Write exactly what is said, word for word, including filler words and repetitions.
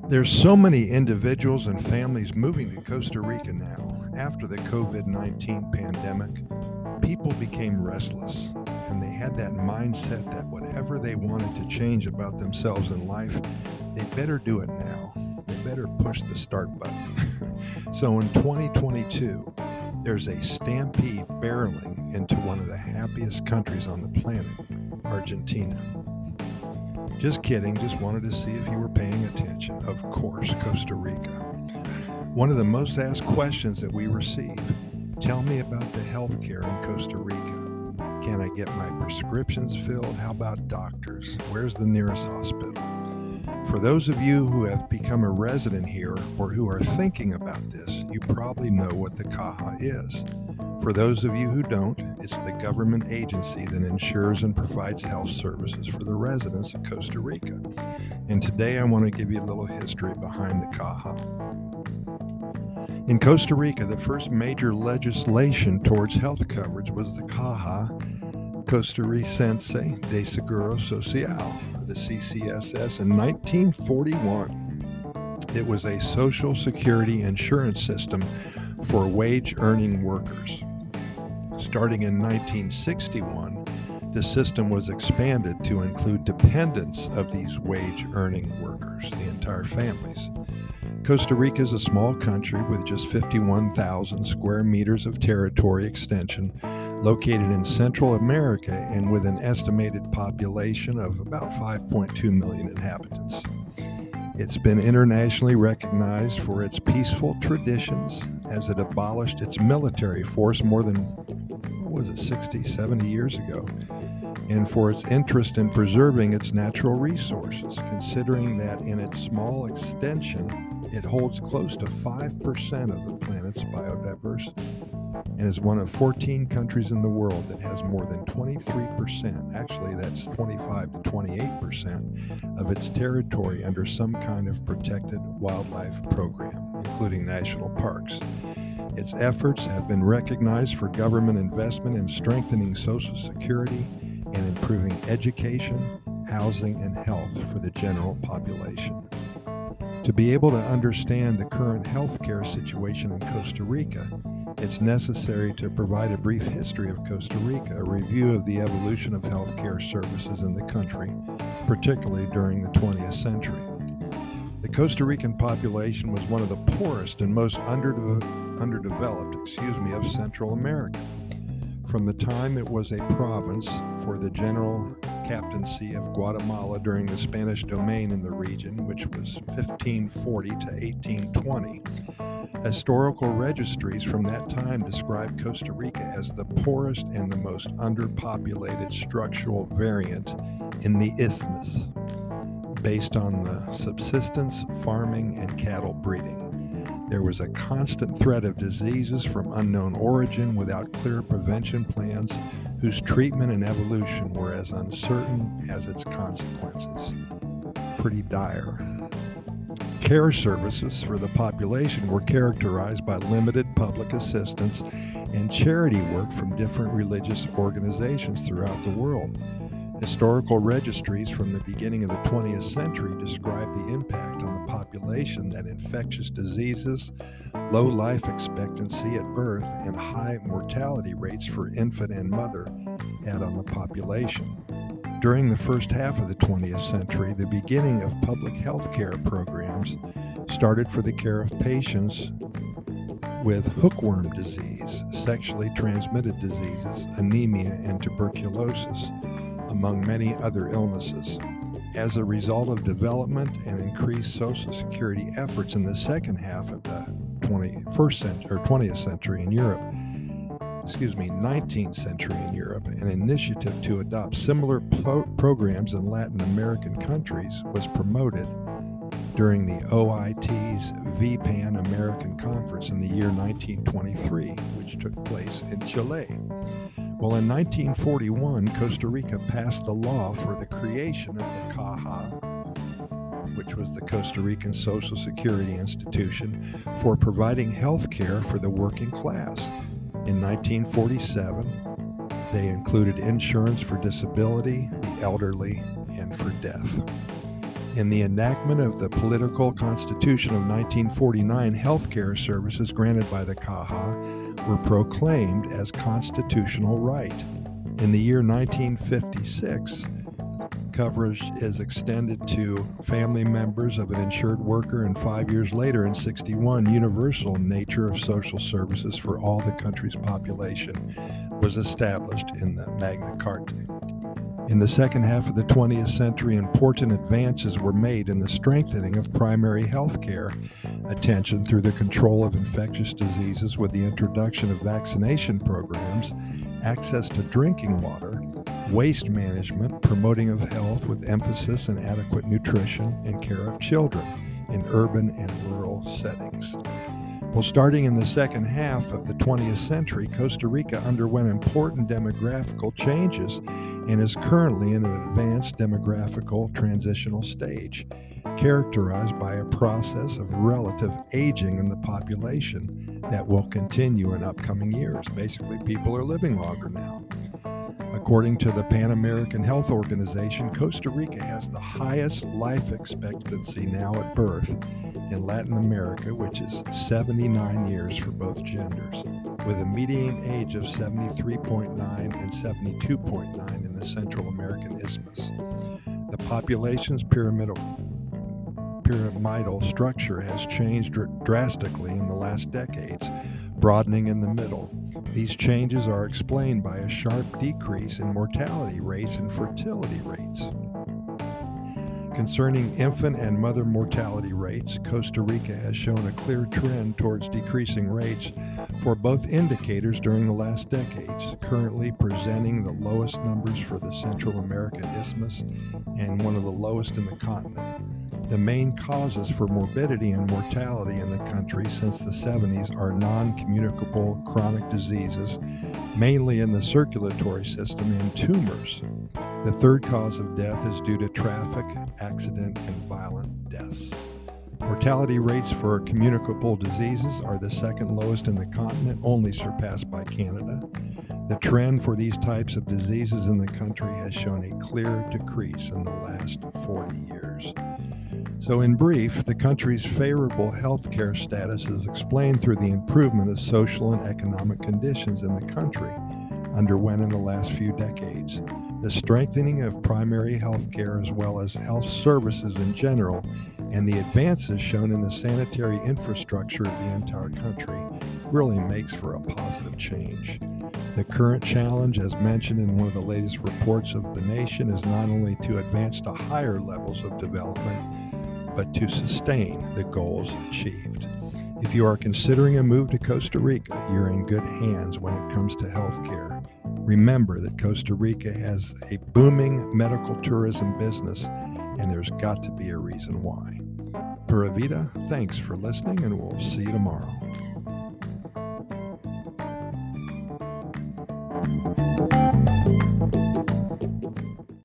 There's so many individuals and families moving to Costa Rica now. After the COVID nineteen pandemic, people became restless and they had that mindset that whatever they wanted to change about themselves in life, they better do it now. They better push the start button. So in twenty twenty-two, there's a stampede barreling into one of the happiest countries on the planet, Argentina. Just kidding, just wanted to see if you were paying attention. Of course, Costa Rica. One of the most asked questions that we receive, tell me about the healthcare in Costa Rica. Can I get my prescriptions filled? How about doctors? Where's the nearest hospital? For those of you who have become a resident here or who are thinking about this, you probably know what the Caja is. For those of you who don't, it's the government agency that insures and provides health services for the residents of Costa Rica. And today I want to give you a little history behind the Caja. In Costa Rica, the first major legislation towards health coverage was the Caja Costarricense de Seguro Social, the C C S S, in nineteen forty-one. It was a social security insurance system for wage-earning workers. Starting in nineteen sixty-one, the system was expanded to include dependents of these wage-earning workers, the entire families. Costa Rica is a small country with just fifty-one thousand square meters of territory extension, located in Central America and with an estimated population of about five point two million inhabitants. It's been internationally recognized for its peaceful traditions as it abolished its military force more than, what was it, sixty, seventy years ago, and for its interest in preserving its natural resources, considering that in its small extension, it holds close to five percent of the planet's biodiversity and is one of fourteen countries in the world that has more than twenty-three percent, actually that's twenty-five to twenty-eight percent of its territory under some kind of protected wildlife program, including national parks. Its efforts have been recognized for government investment in strengthening Social Security and improving education, housing, and health for the general population. To be able to understand the current healthcare situation in Costa Rica, it's necessary to provide a brief history of Costa Rica, a review of the evolution of healthcare services in the country, particularly during the twentieth century. The Costa Rican population was one of the poorest and most underde- underdeveloped, excuse me, of Central America. From the time it was a province for the general captaincy of Guatemala during the Spanish domain in the region, which was fifteen forty to eighteen twenty. Historical registries from that time describe Costa Rica as the poorest and the most underpopulated structural variant in the isthmus, based on the subsistence, farming, and cattle breeding. There was a constant threat of diseases from unknown origin without clear prevention plans, whose treatment and evolution were as uncertain as its consequences. Pretty dire. Care services for the population were characterized by limited public assistance and charity work from different religious organizations throughout the world. Historical registries from the beginning of the twentieth century describe the impact on the population that infectious diseases, low life expectancy at birth, and high mortality rates for infant and mother had on the population. During the first half of the twentieth century, the beginning of public health care programs started for the care of patients with hookworm disease, sexually transmitted diseases, anemia, and tuberculosis, among many other illnesses. As a result of development and increased Social Security efforts in the second half of the twenty-first century or twentieth century in Europe, excuse me, nineteenth century in Europe, an initiative to adopt similar pro- programs in Latin American countries was promoted during the O I T's V PAN American Conference in the year nineteen twenty-three, which took place in Chile. Well, in nineteen forty-one, Costa Rica passed the law for the creation of the Caja, which was the Costa Rican Social Security Institution, for providing health care for the working class. In nineteen forty-seven, they included insurance for disability, the elderly, and for death. In the enactment of the Political Constitution of nineteen forty-nine, healthcare services granted by the C A H A were proclaimed as constitutional right. In the year nineteen fifty-six, coverage is extended to family members of an insured worker, and five years later, in sixty-one, universal nature of social services for all the country's population was established in the Magna Carta. In the second half of the twentieth century, important advances were made in the strengthening of primary health care attention through the control of infectious diseases with the introduction of vaccination programs, access to drinking water, waste management, promoting of health with emphasis on adequate nutrition and care of children in urban and rural settings. Well, starting in the second half of the twentieth century, Costa Rica underwent important demographical changes and is currently in an advanced demographical transitional stage, characterized by a process of relative aging in the population that will continue in upcoming years. Basically, people are living longer now. According to the Pan American Health Organization, Costa Rica has the highest life expectancy now at birth in Latin America, which is seventy-nine years for both genders, with a median age of seventy-three point nine and seventy-two point nine in the Central American Isthmus. The population's pyramidal, pyramidal structure has changed dr- drastically in the last decades, broadening in the middle. These changes are explained by a sharp decrease in mortality rates and fertility rates. Concerning infant and mother mortality rates, Costa Rica has shown a clear trend towards decreasing rates for both indicators during the last decades, currently presenting the lowest numbers for the Central American Isthmus and one of the lowest in the continent. The main causes for morbidity and mortality in the country since the seventies are non-communicable chronic diseases, mainly in the circulatory system, and tumors. The third cause of death is due to traffic, accident, and violent deaths. Mortality rates for communicable diseases are the second lowest in the continent, only surpassed by Canada. The trend for these types of diseases in the country has shown a clear decrease in the last forty years. So in brief, the country's favorable healthcare status is explained through the improvement of social and economic conditions in the country underwent in the last few decades, the strengthening of primary health care as well as health services in general, and the advances shown in the sanitary infrastructure of the entire country really makes for a positive change. The current challenge, as mentioned in one of the latest reports of the nation, is not only to advance to higher levels of development, but to sustain the goals achieved. If you are considering a move to Costa Rica, you're in good hands when it comes to health care. Remember that Costa Rica has a booming medical tourism business, and there's got to be a reason why. Pura Vida, thanks for listening, and we'll see you tomorrow.